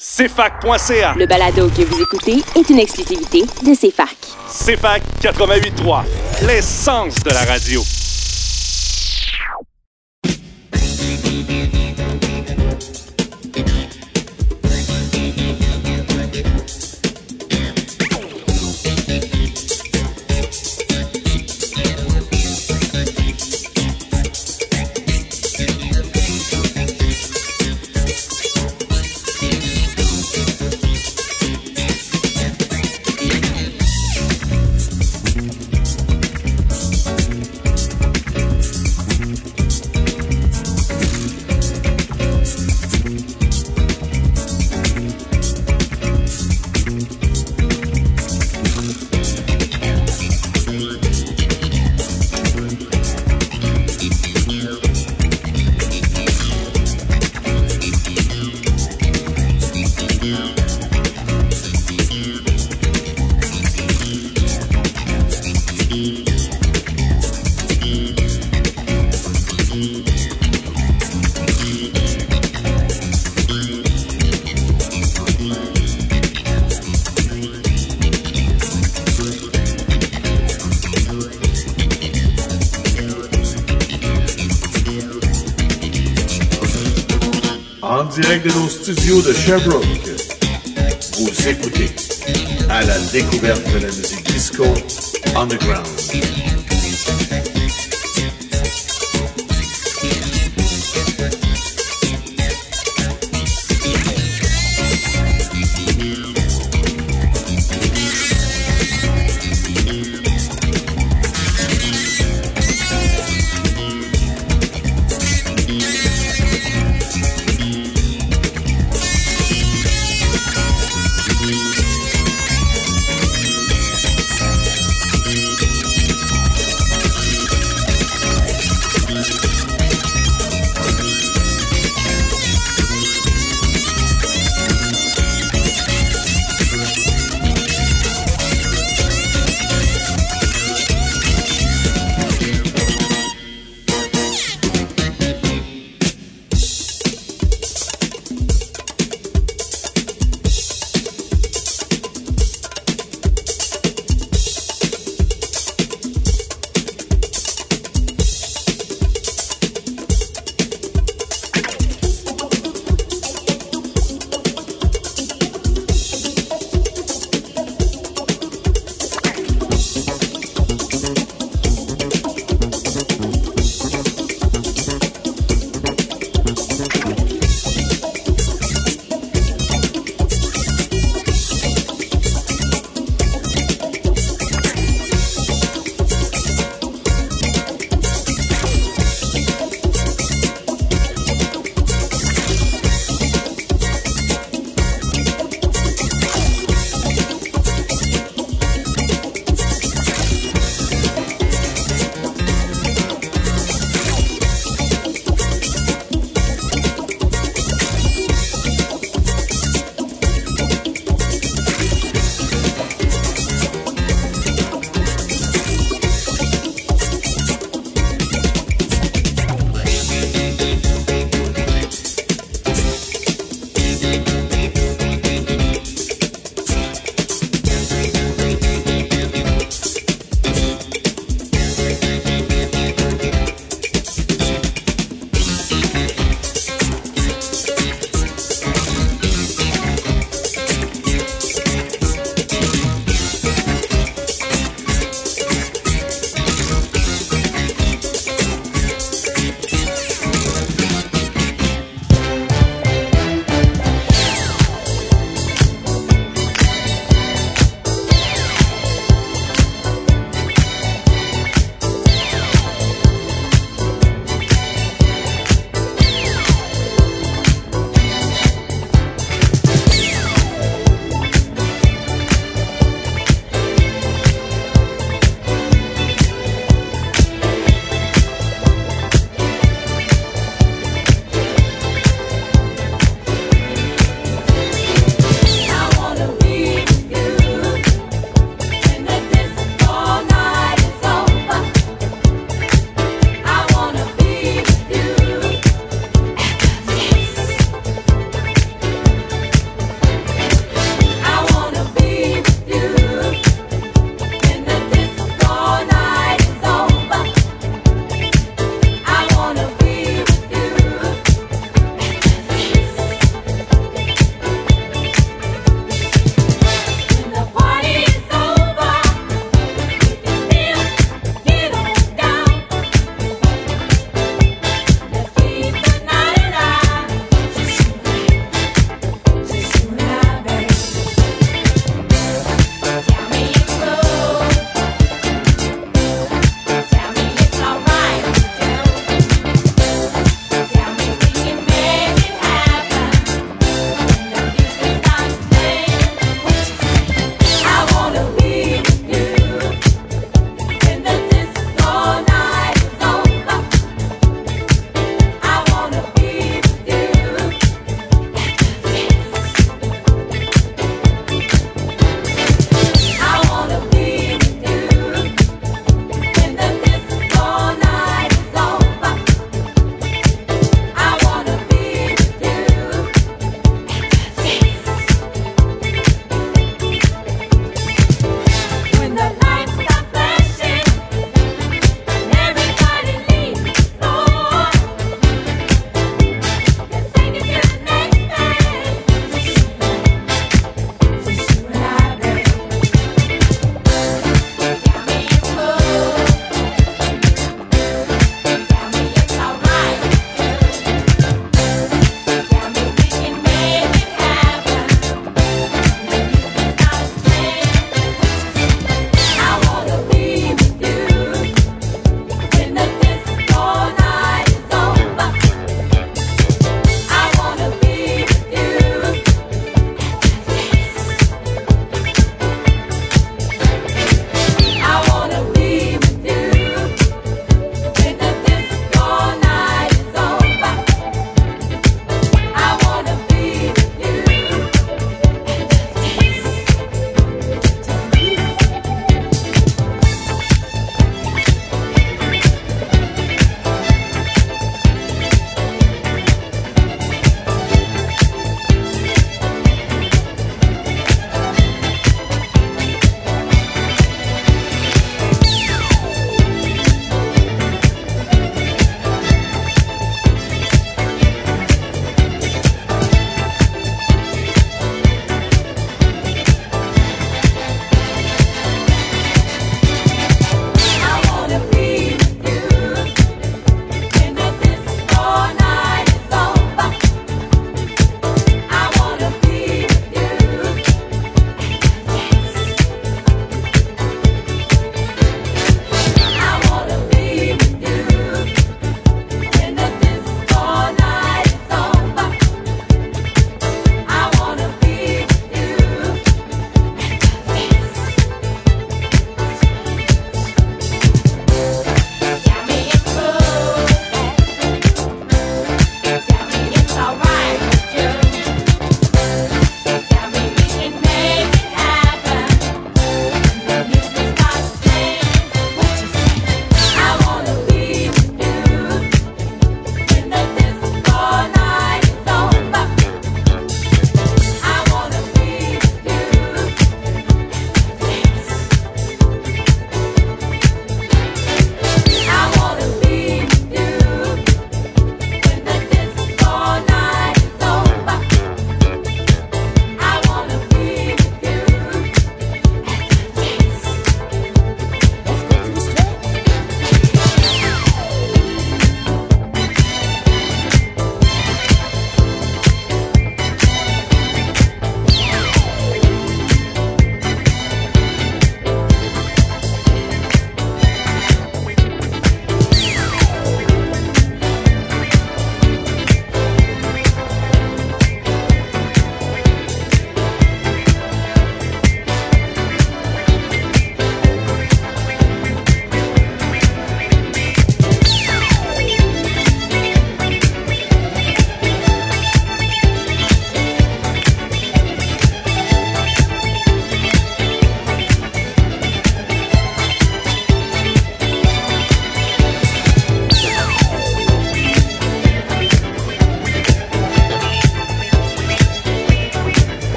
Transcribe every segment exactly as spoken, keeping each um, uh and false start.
C F A C point C A. Le balado que vous écoutez est une exclusivité de C F A C. C F A C quatre-vingt-huit trois, l'essence de la radio. En direct de nos studios de Sherbrooke, vous écoutez à la découverte de la musique disco underground.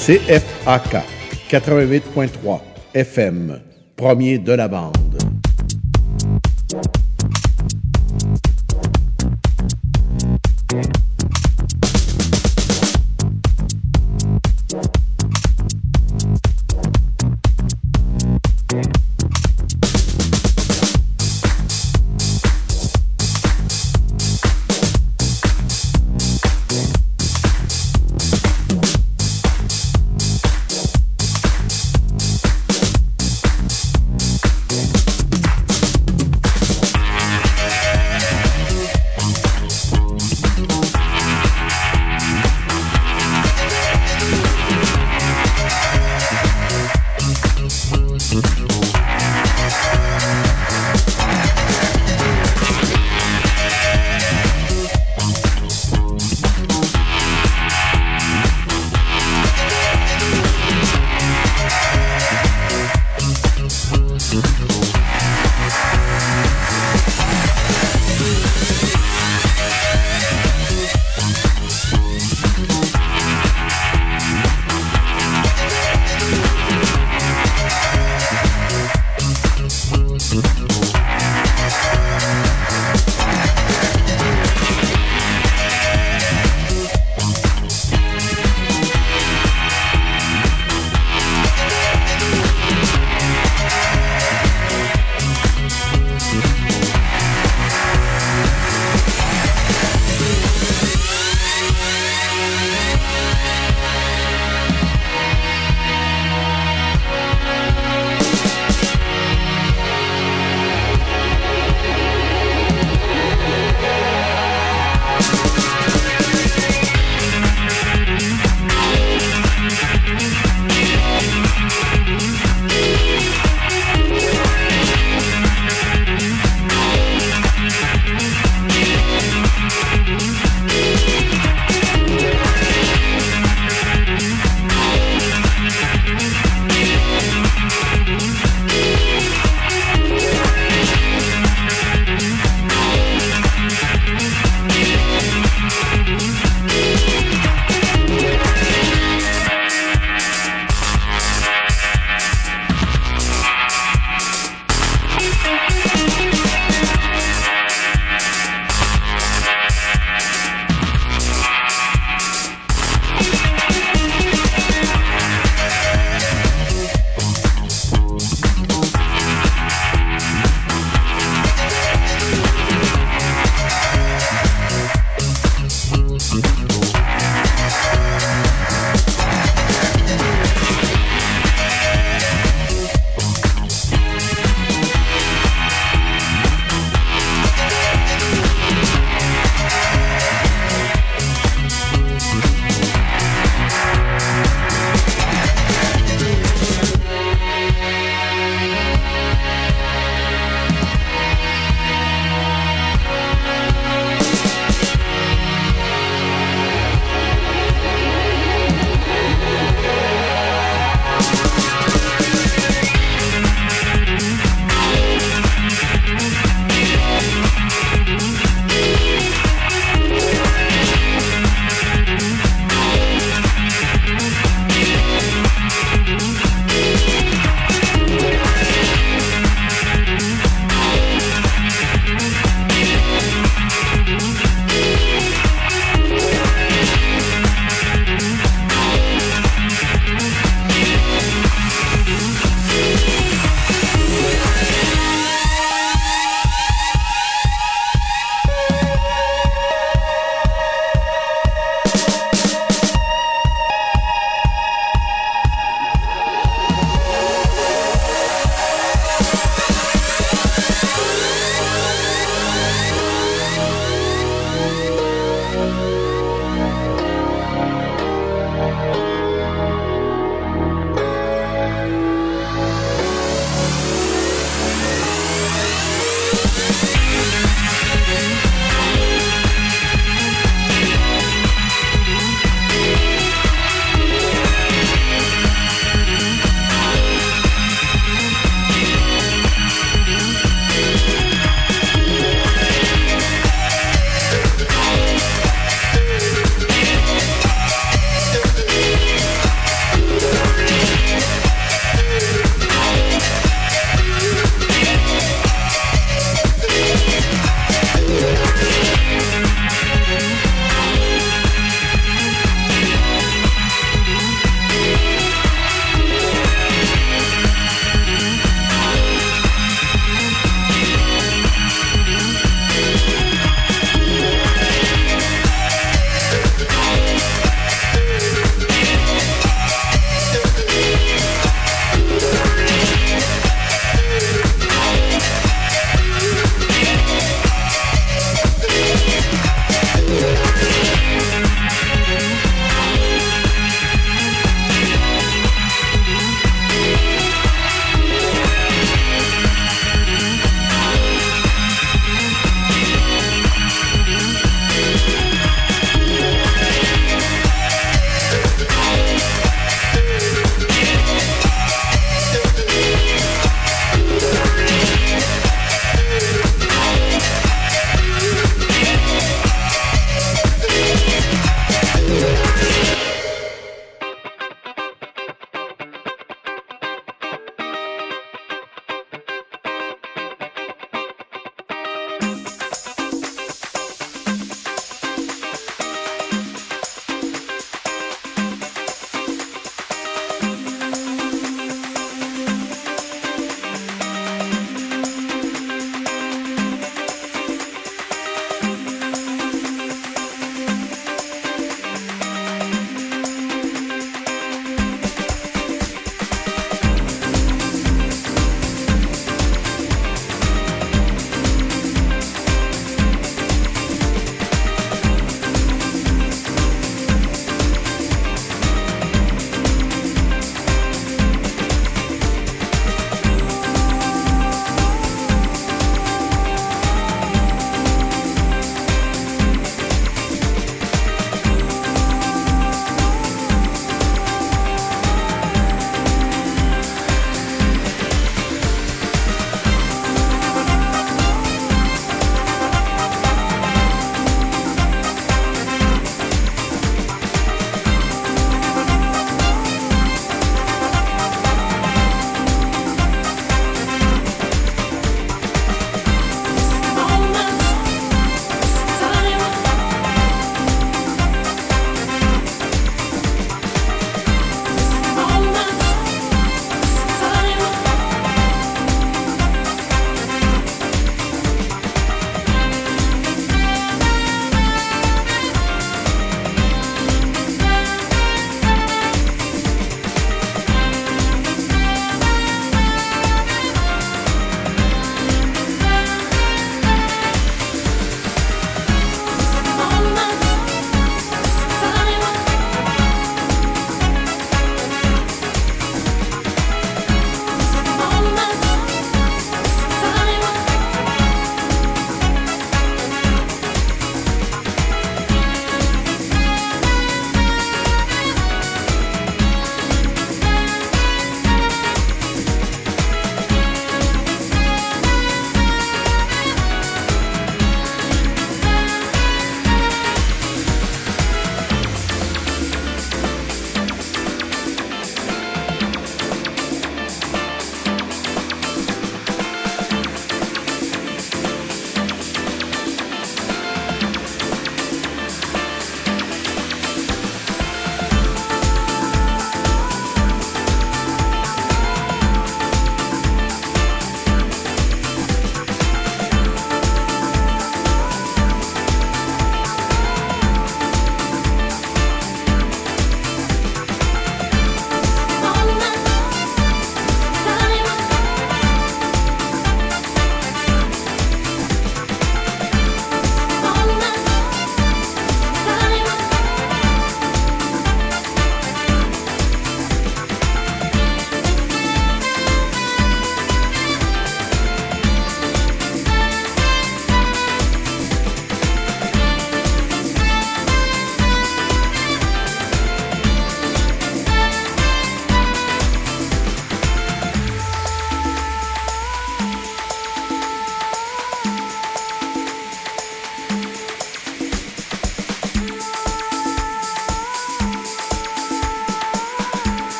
C F A K quatre-vingt-huit point trois F M, premier de la bande.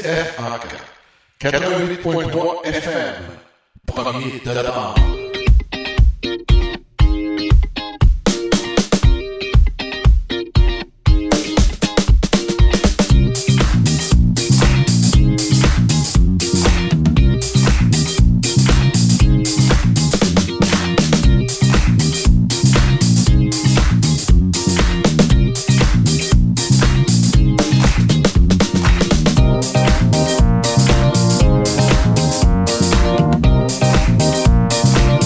F A K quatre-vingt-huit point trois F M, premier de la bande. We'll be right back.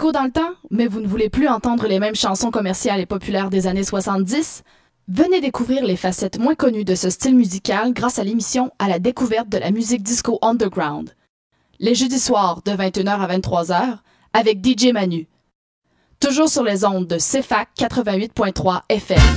disco dans le temps, mais vous ne voulez plus entendre les mêmes chansons commerciales et populaires des années soixante-dix? Venez découvrir les facettes moins connues de ce style musical grâce à l'émission À la découverte de la musique disco underground. Les jeudis soirs de vingt et une heures à vingt-trois heures avec D J Manu. Toujours sur les ondes de C F A C quatre-vingt-huit point trois F M.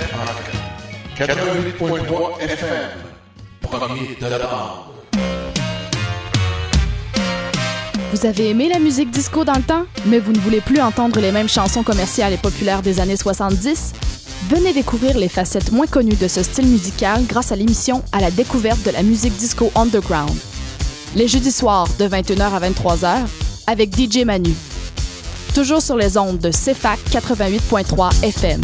rock. quatre-vingt-huit point trois F M, premier de la bande. Vous avez aimé la musique disco dans le temps, mais vous ne voulez plus entendre les mêmes chansons commerciales et populaires des années soixante-dix? Venez découvrir les facettes moins connues de ce style musical grâce à l'émission À la découverte de la musique disco underground. Les jeudis soirs de vingt et une heures à vingt-trois heures avec D J Manu. Toujours sur les ondes de C F A C quatre-vingt-huit point trois F M.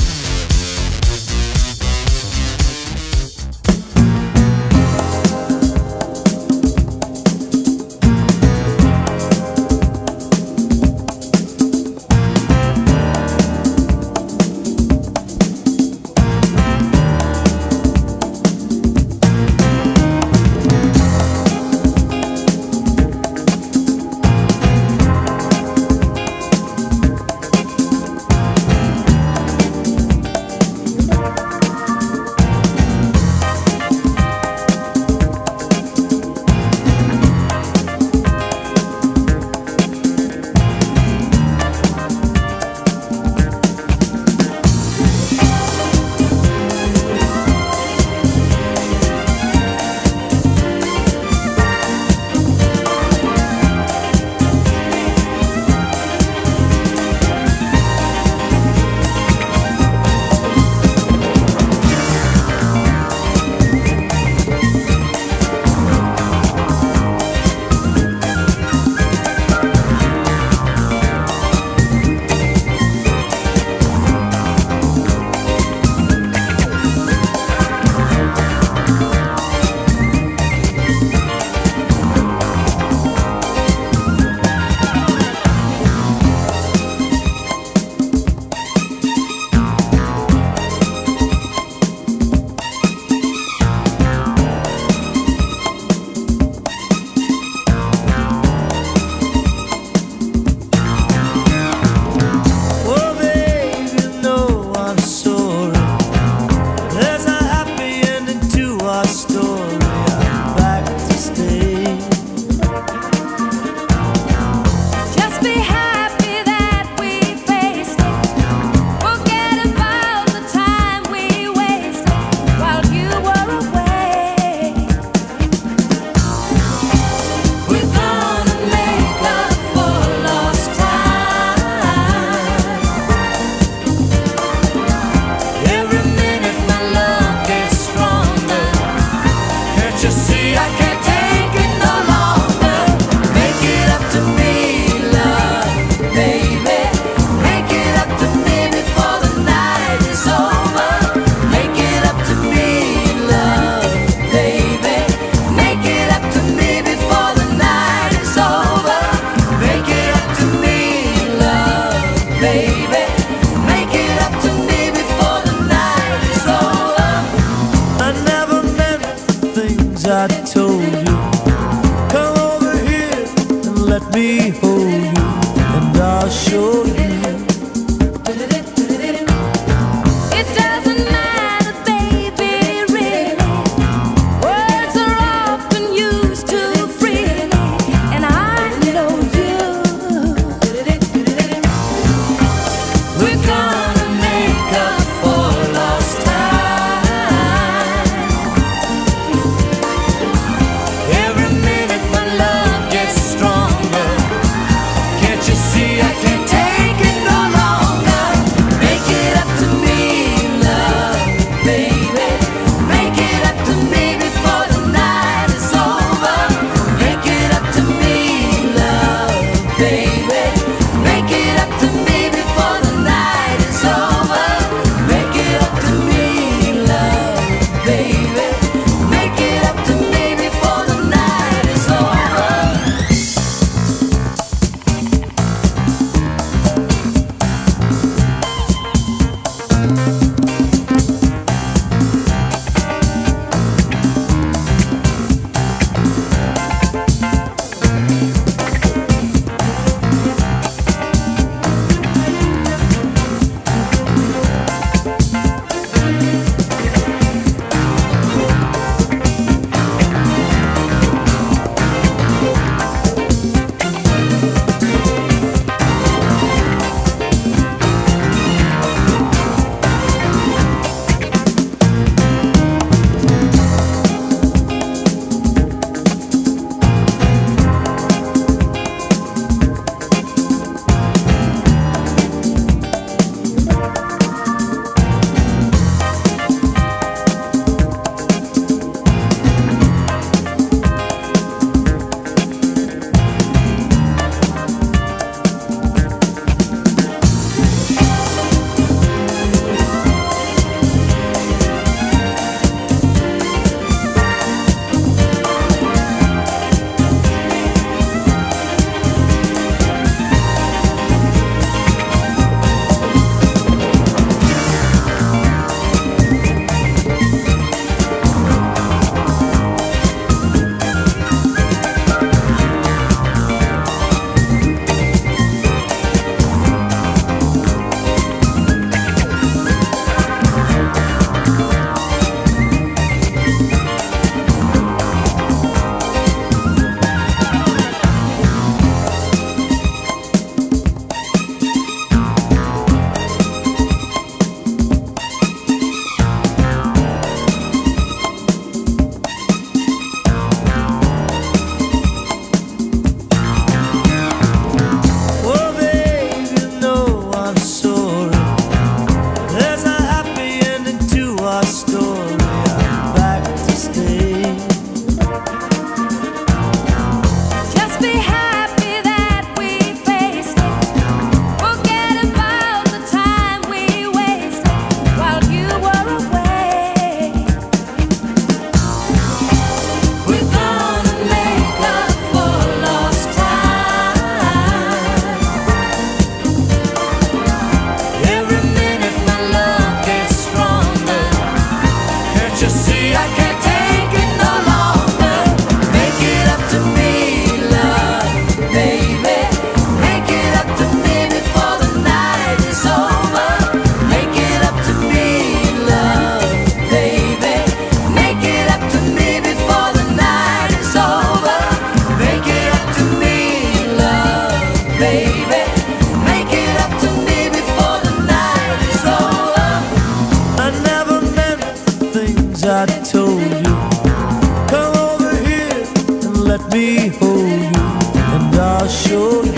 see I can't take it no longer. Make it up to me, love, baby. Make it up to me before the night is over. Make it up to me, love, baby. Make it up to me before the night is over. Make it up to me, love, baby. Make it up to me before the night is over. I never meant the things I told you. Come over here and let me hold you, and I'll show you.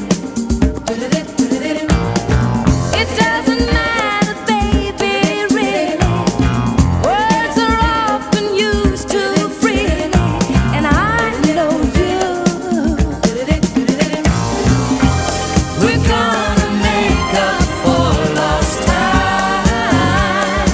It doesn't matter, baby, really. Words are often used too freely, and I know you. We're gonna make up for lost time.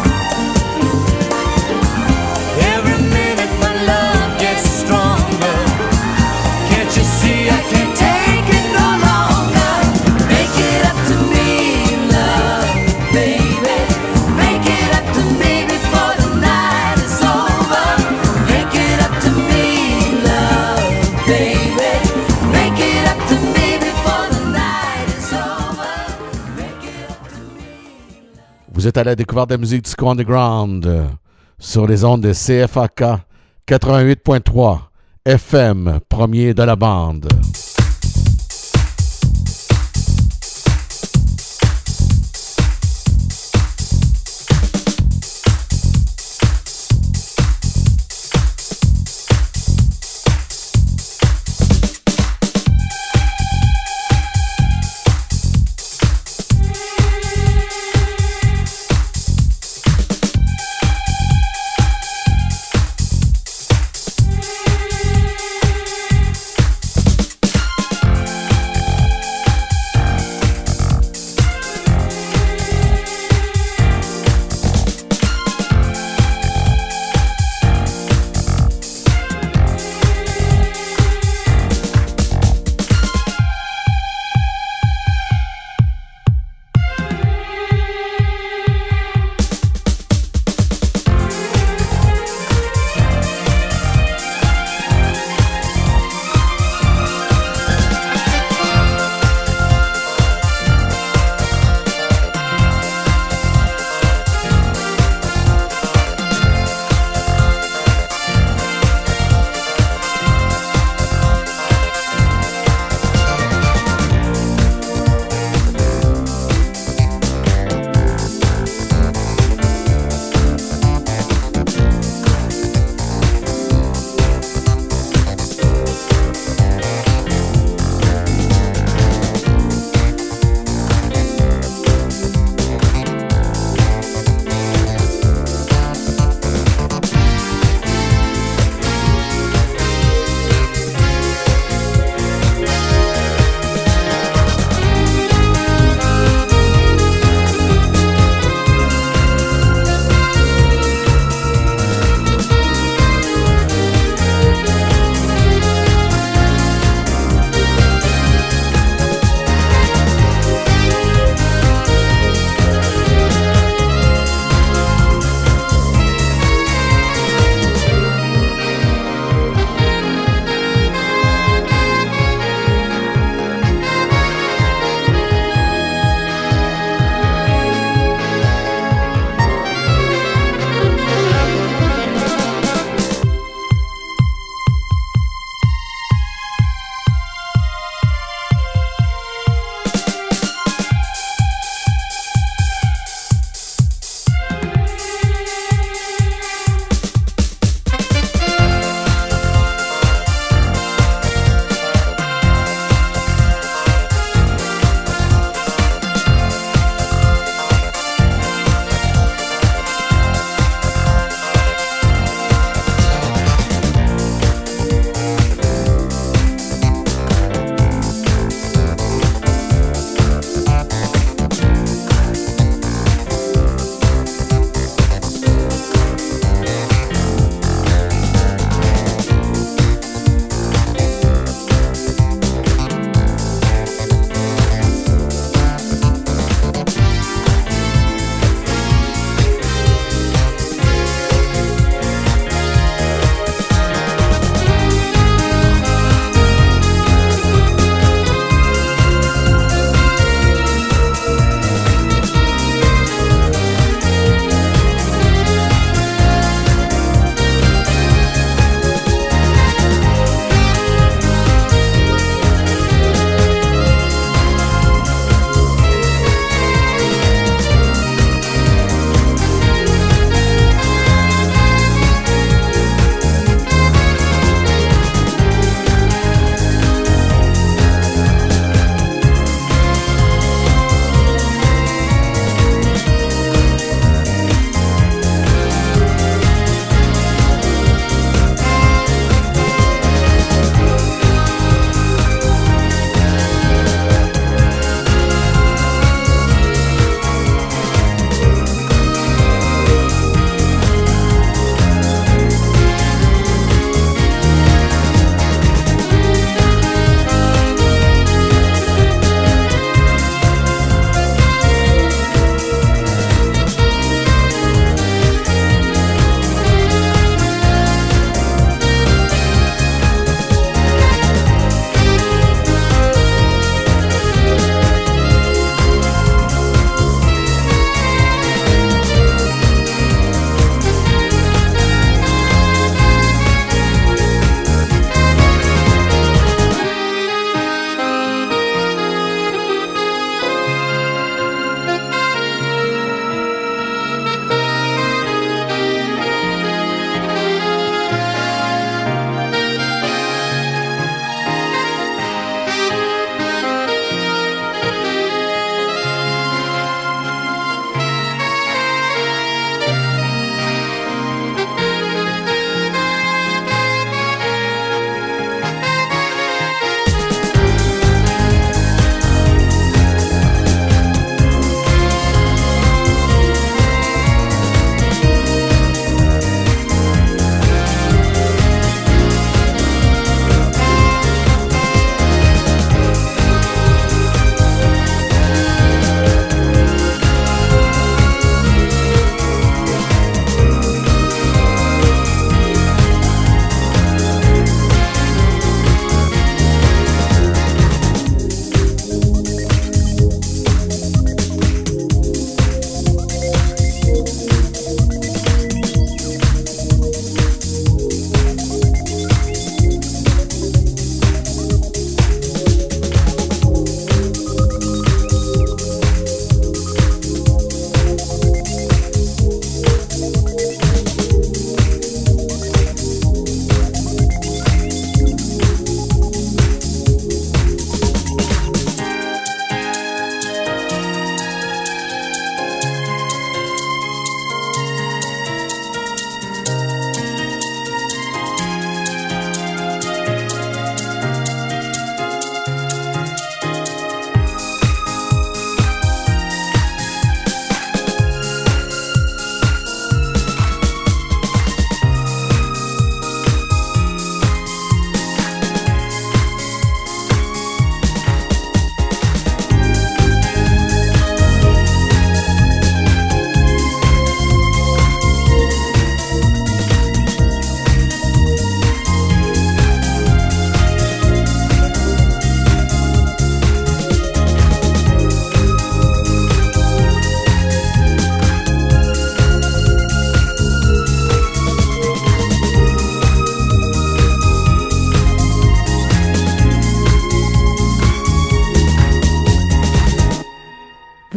Every minute my love gets stronger. Can't you see I can't take it no longer? Make it up to me, love, baby. Make it up to me before the night is over. Make it up to me, love, baby. Make it up to me before the night is over. Make it up to me. Vous êtes à la découverte de la musique disco underground euh, sur les ondes de C F A K quatre-vingt-huit point trois F M, premier de la bande.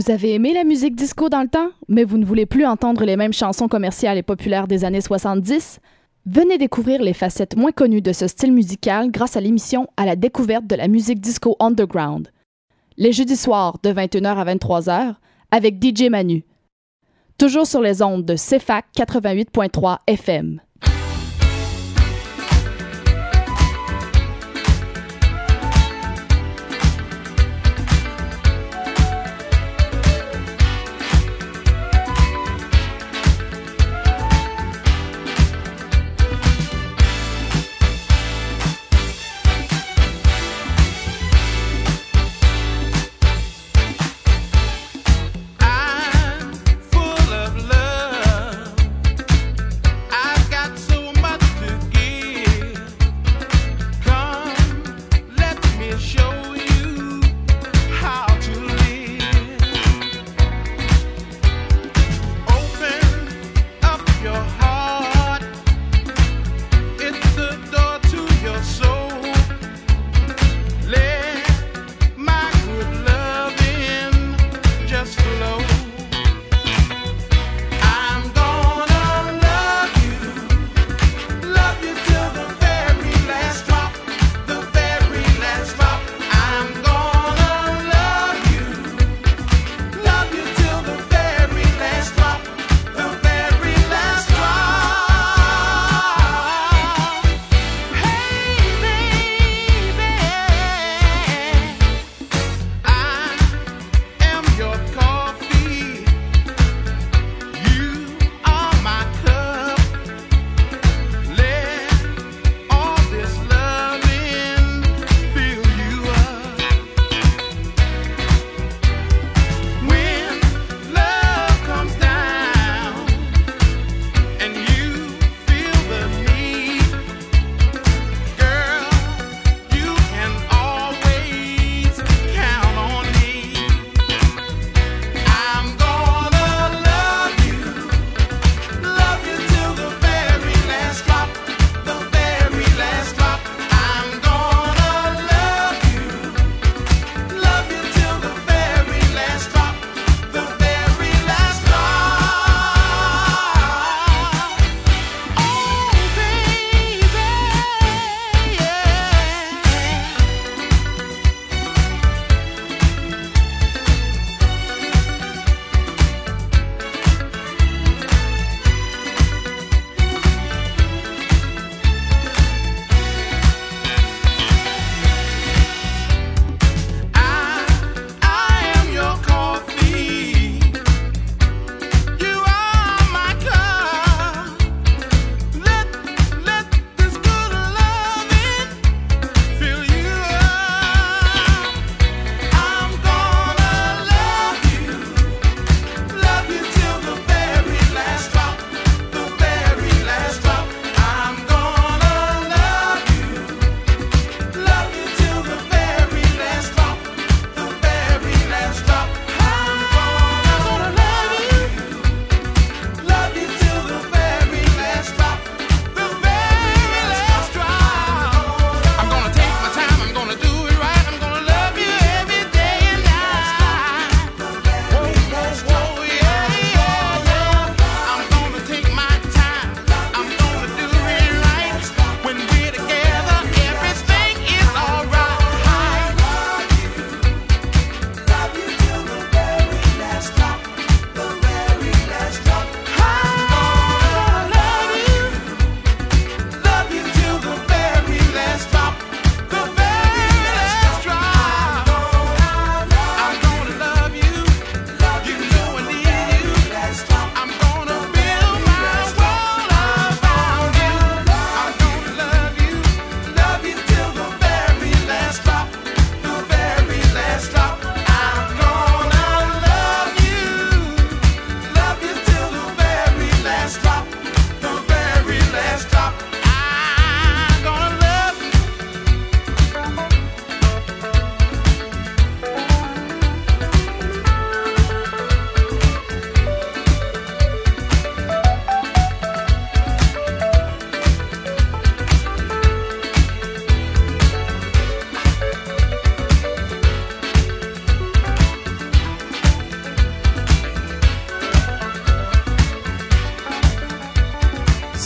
Vous avez aimé la musique disco dans le temps, mais vous ne voulez plus entendre les mêmes chansons commerciales et populaires des années soixante-dix? Venez découvrir les facettes moins connues de ce style musical grâce à l'émission À la découverte de la musique disco underground. Les jeudis soirs de vingt et une heures à vingt-trois heures avec D J Manu. Toujours sur les ondes de C F A C quatre-vingt-huit point trois F M. I'm full of love. I've got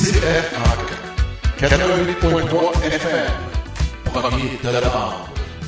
C F A K quatre-vingt-huit point trois F M, premier de la bande.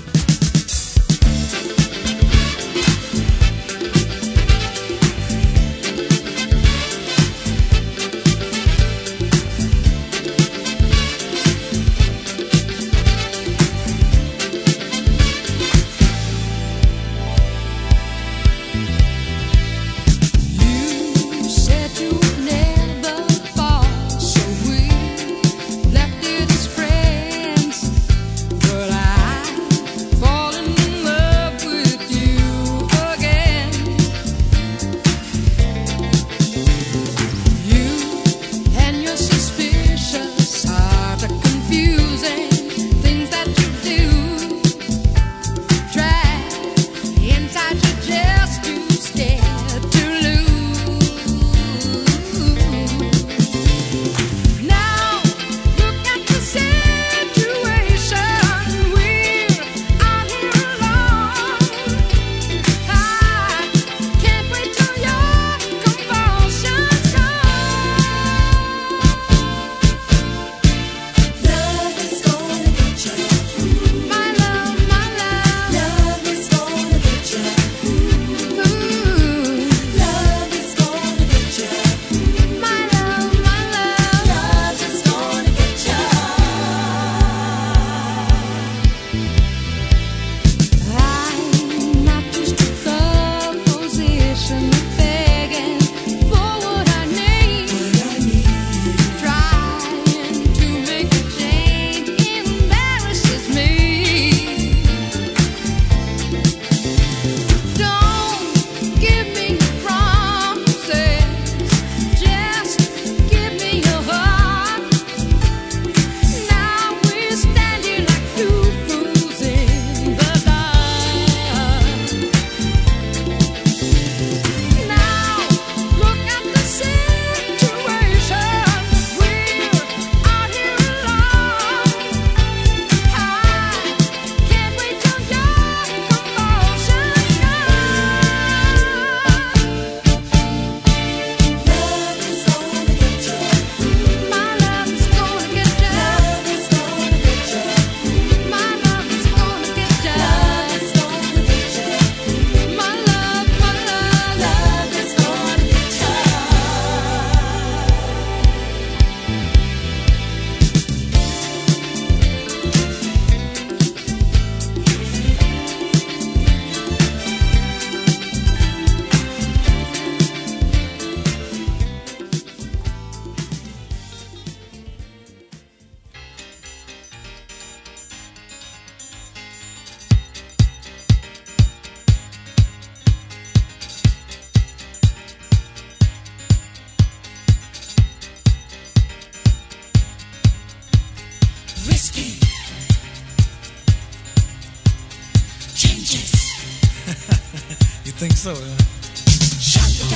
think so, huh? Shut it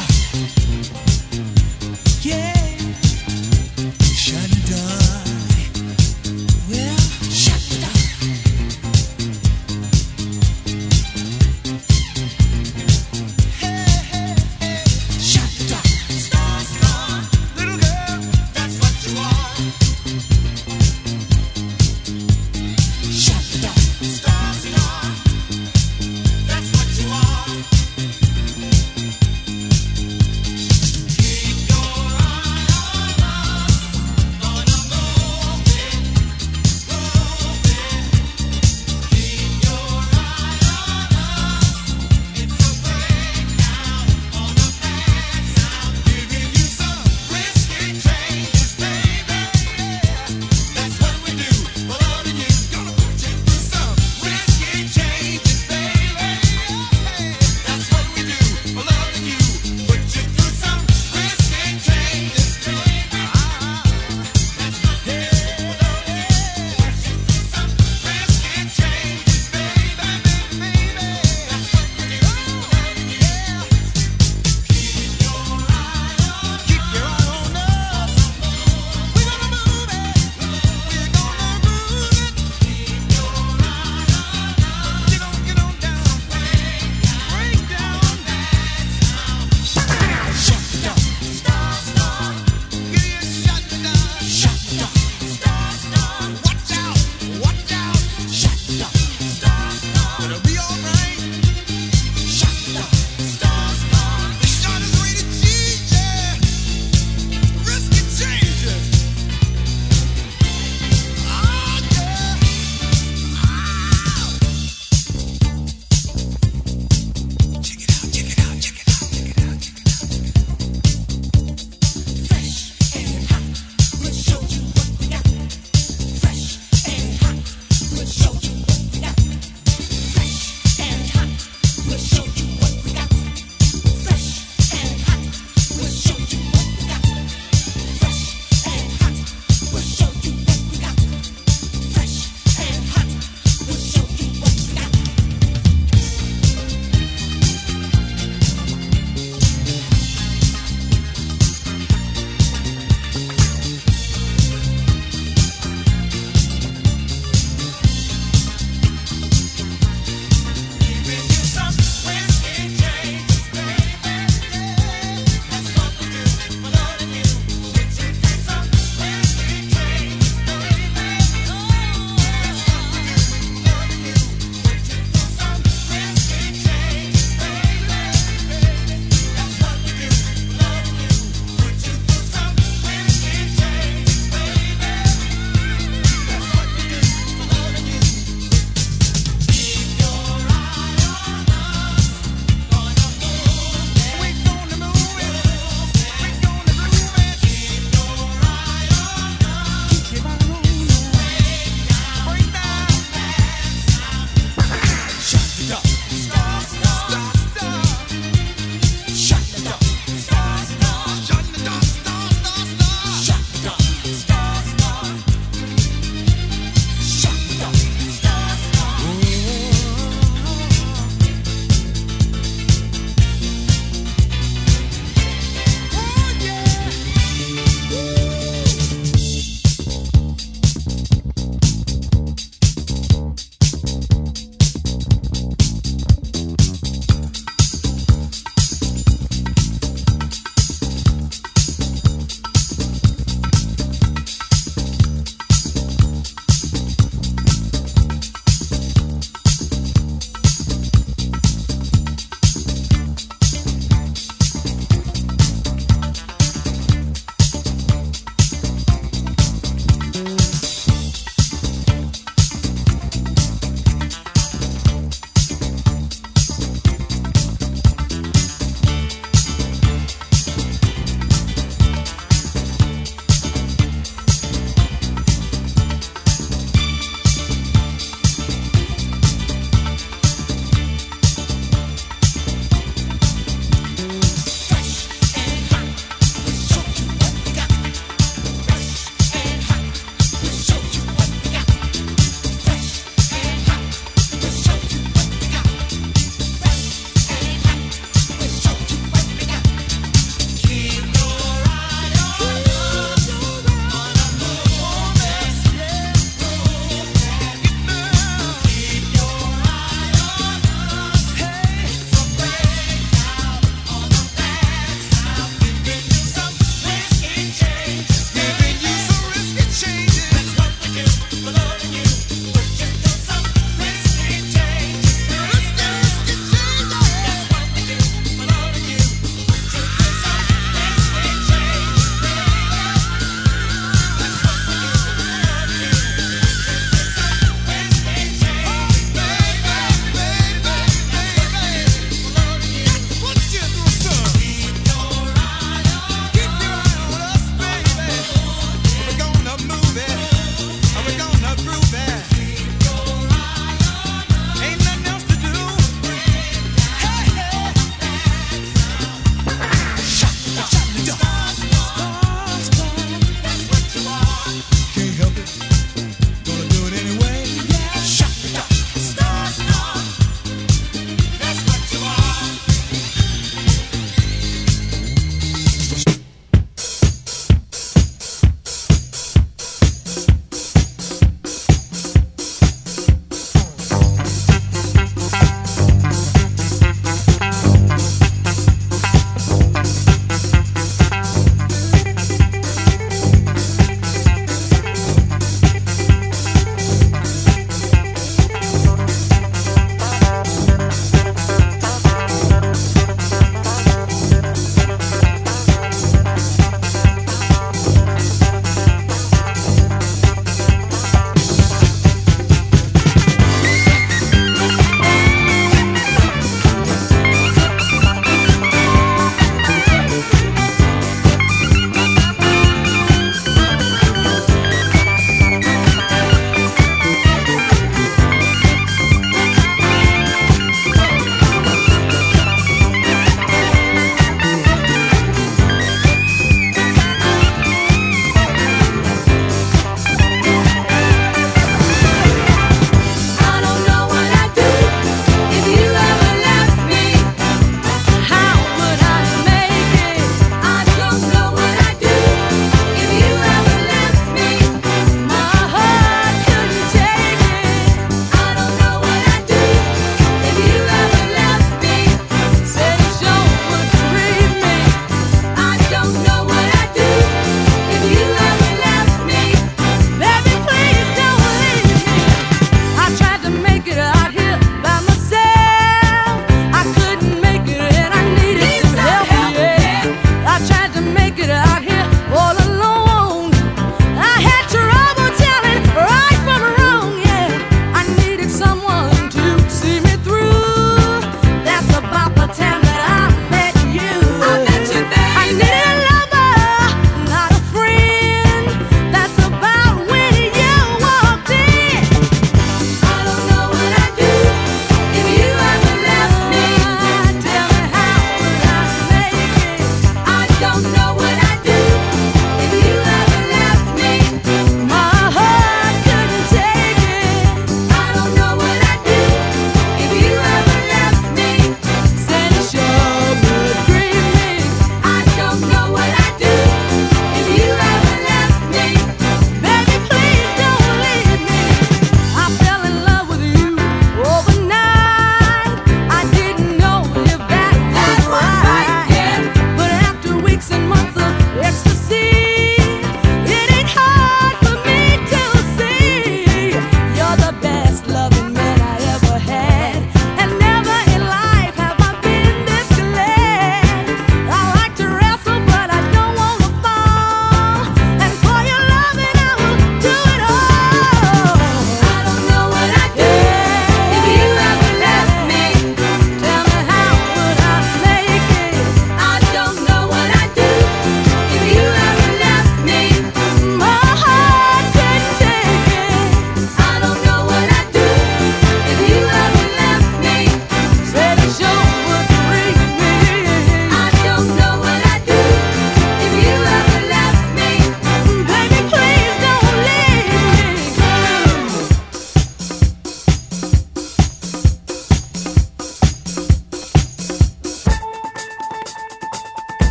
down. Yeah. Shut it down. Well, shut it down. Hey, hey, hey. Shut it down. Star, star. Little girl, that's what you are. Shut it down. Star, star. That's what you are.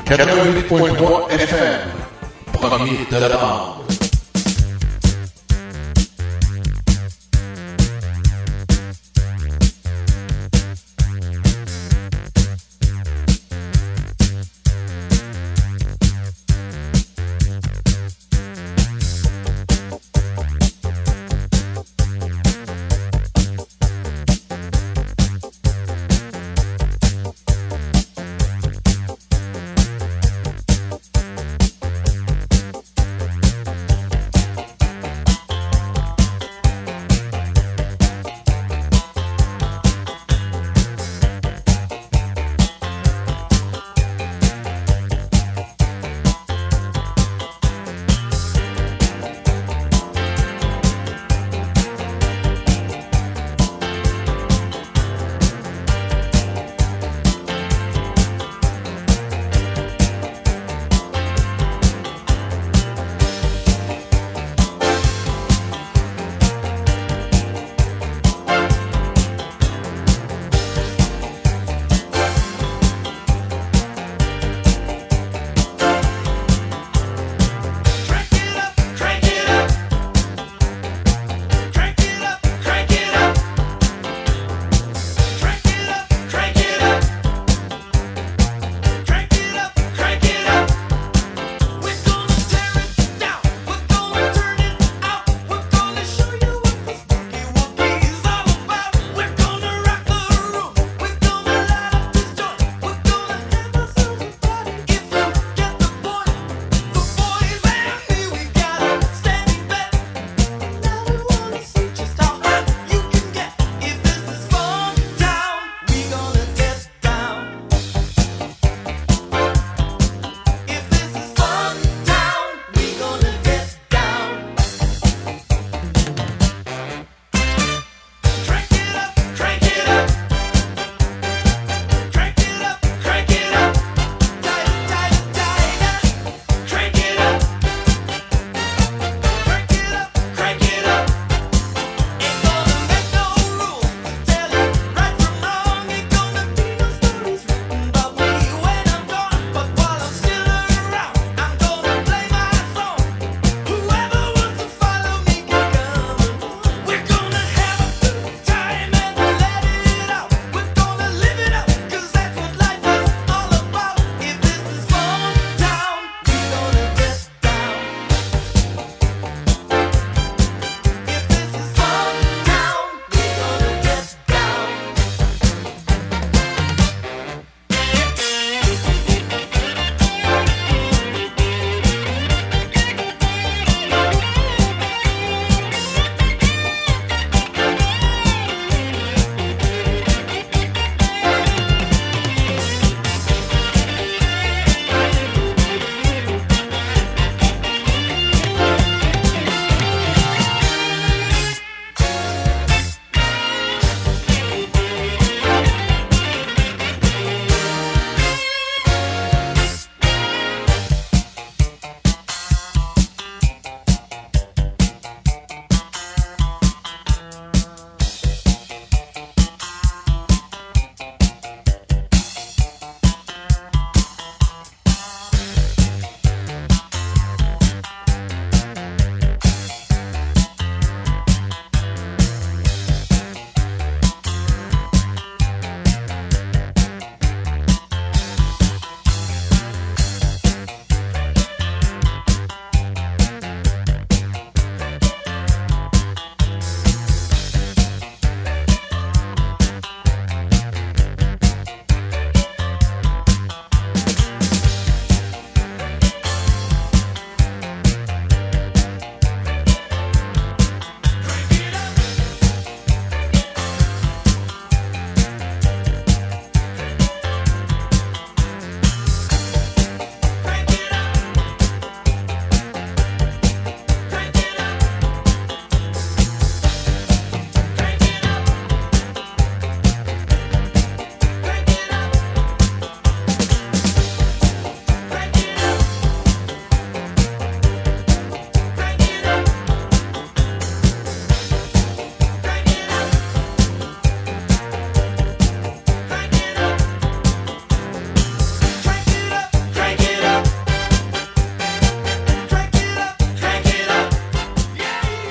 quatre-vingt-huit point trois F M, premier de la bande.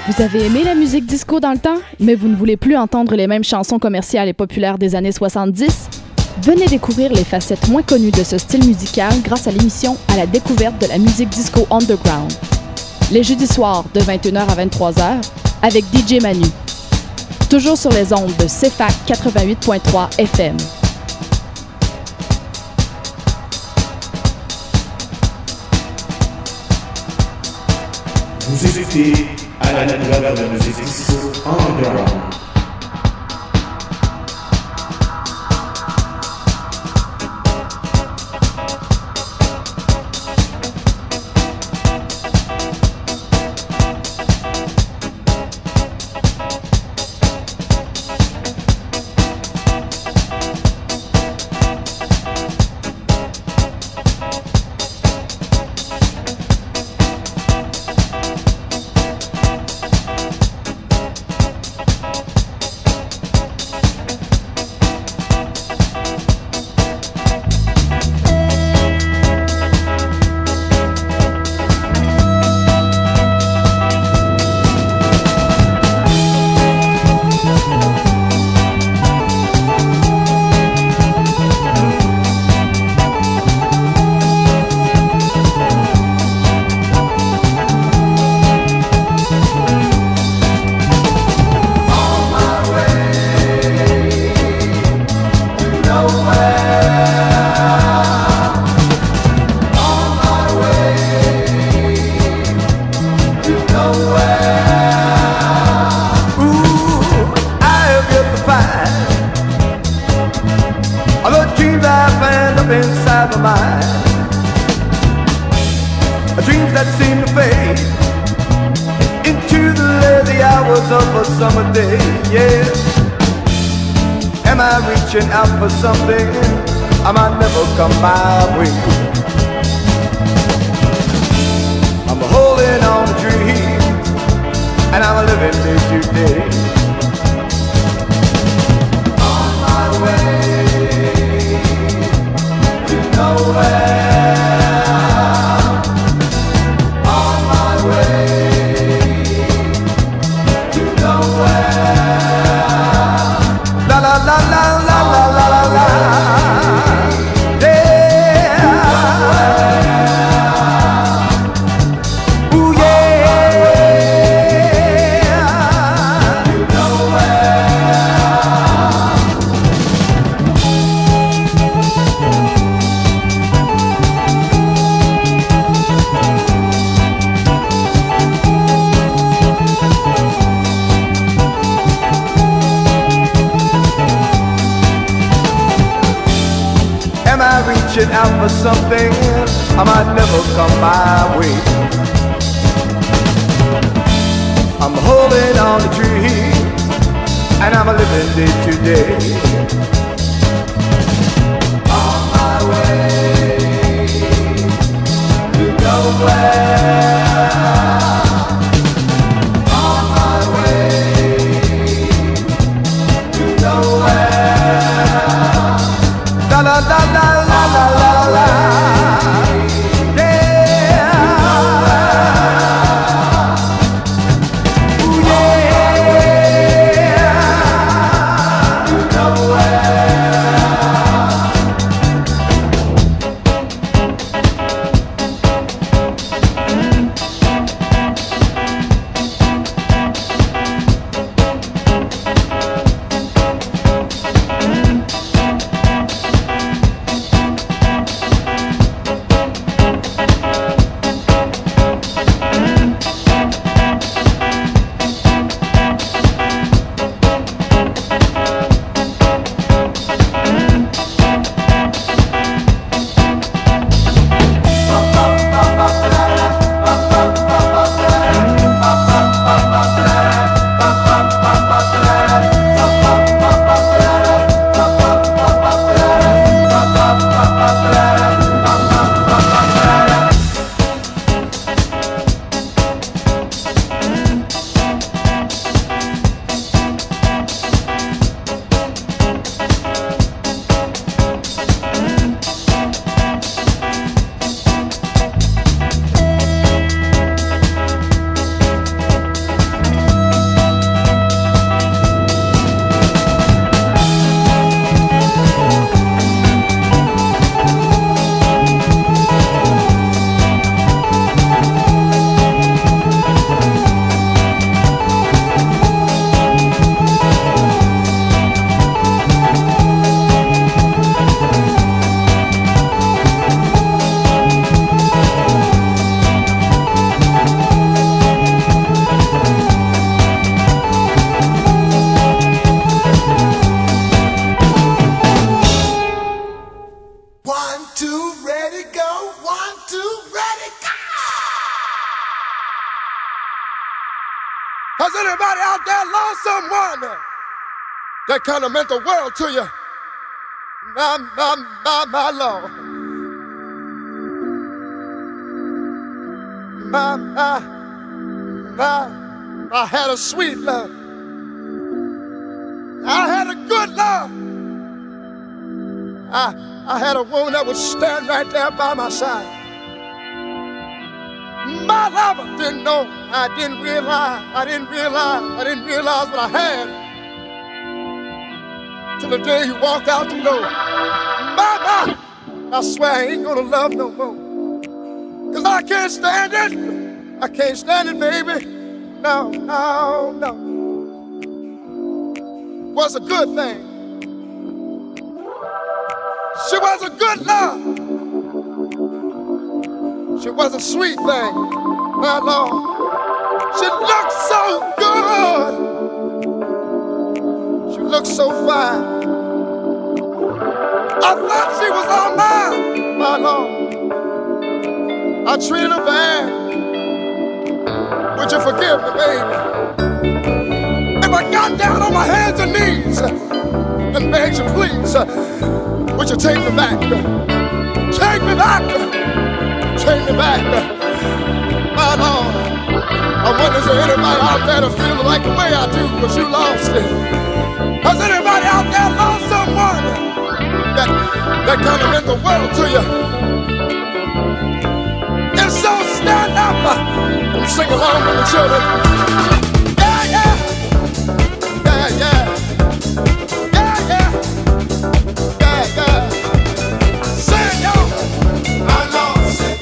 Vous avez aimé la musique disco dans le temps, mais vous ne voulez plus entendre les mêmes chansons commerciales et populaires des années soixante-dix? Venez découvrir les facettes moins connues de ce style musical grâce à l'émission À la découverte de la musique disco underground. Les jeudis soirs de vingt et une heures à vingt-trois heures avec D J Manu. Toujours sur les ondes de C F A C quatre-vingt-huit point trois F M. Vous écoutez à la découverte de la musique disco underground. Out for something I might never come my way. I'm holding on a dream and I'm living day to day. On my way to nowhere. On my way to nowhere. La la la la la. Out for something I might never come my way. I'm holding on to dreams and I'm living day to day. On my way to nowhere. On my way to nowhere. La la la la. La la la, yeah. Ooh, yeah. Nowhere. Has anybody out there lost someone that kind of meant the world to you? My, my, my, my Lord. My, my, my, I had a sweet love. I had a good love. I, I had a woman that would stand right there by my side. My lover didn't know, I didn't realize, I didn't realize, I didn't realize what I had till the day he walked out the door. My, my, I swear I ain't gonna love no more. Cause I can't stand it. I can't stand it, baby. No, no, no. Was a good thing. She was a good love. She was a sweet thing, my Lord. She looked so good. She looked so fine. I thought she was all mine, my Lord. I treated her bad. Would you forgive me, baby? If I got down on my hands and knees and begged you, please, would you take me back? Take me back. Take me back, my Lord. I wonder is there anybody out there that feels like the way I do, because you lost it. Has anybody out there lost someone that, that kind of meant the world to you? And so stand up and sing along with the children. Yeah, yeah. Yeah, yeah. Yeah, yeah. Yeah, yeah. Sing, y'all. I lost it.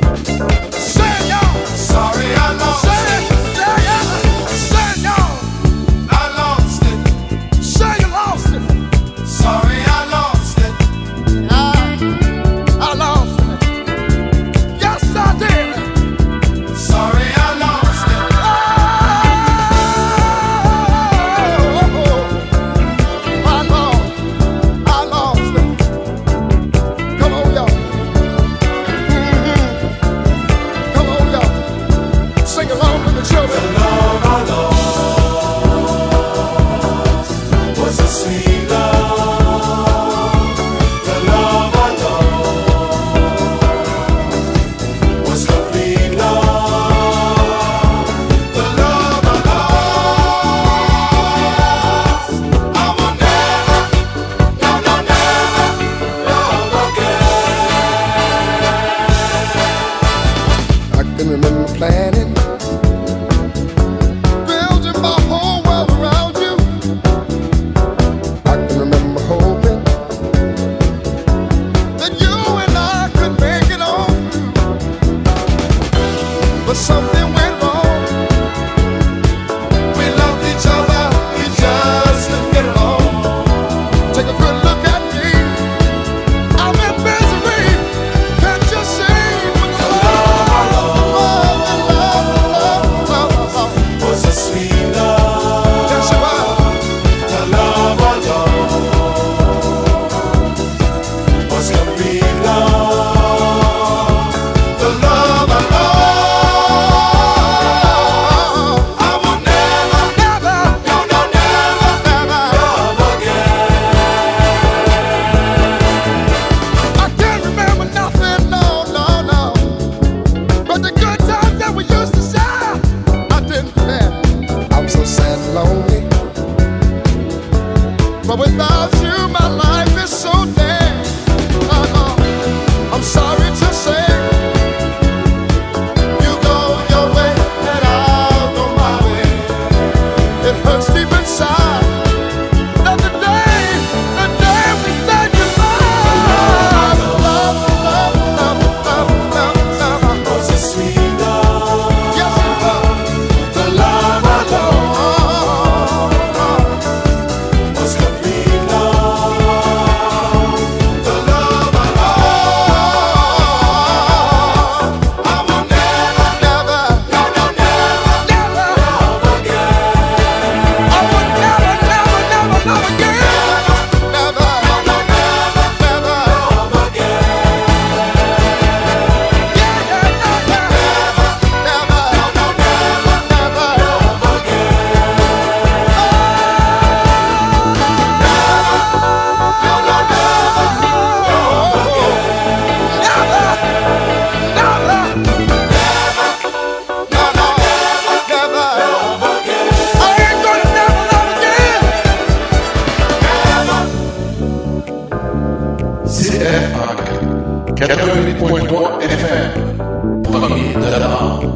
Sorry, I lost it. Yeah, yeah. Say, y'all. I lost it. Say you lost it. Sorry, I lost it. I, I lost it. Yes, I did. Sorry, I lost it. Oh, I lost. I lost it. Come on, y'all. Mm-hmm. Come on, y'all. Sing along with the children. The love I lost was a sweet love. The love I lost was complete love. The love I lost, I will never, no, no, never love again. I can remember planning, building my whole world around you. I can remember hoping that you and I could make it on through. But something went wrong. We loved each other, we just didn't get along. Take a good look at me. I'm in misery. Can't you see what the love I lost? The love, love, love, love was a sweet love. Yes, it was. The love I lost was complete love. The love I lost, I will never, never, no, no, never, never love again. I can't remember nothing, no, no, no. But the good times that we used to share, I didn't care. I'm so sad and lonely. But without you, my life is so dead. Uh-uh. I'm sorry to say, you go your way and I'll go my way. It hurts deep inside that the day, the day we said goodbye. Love, love, love, love, love, love was a sweet love. Yes, it was. The love I lost was complete quatre-vingt-huit point trois F M, premier de la bande.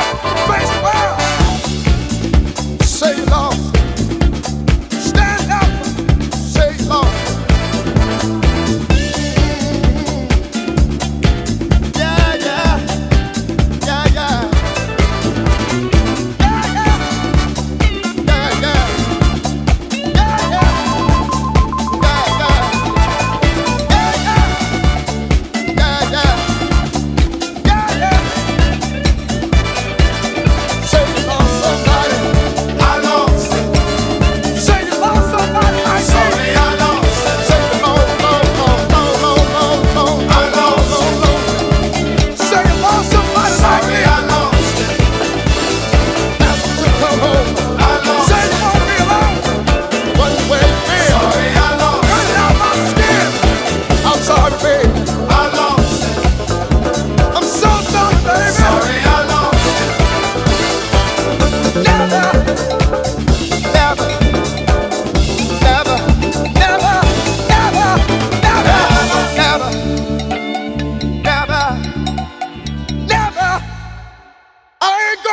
Say, Lord, stand up.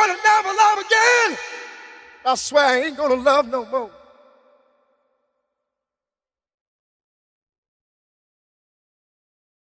to never love again, I swear I ain't gonna love no more.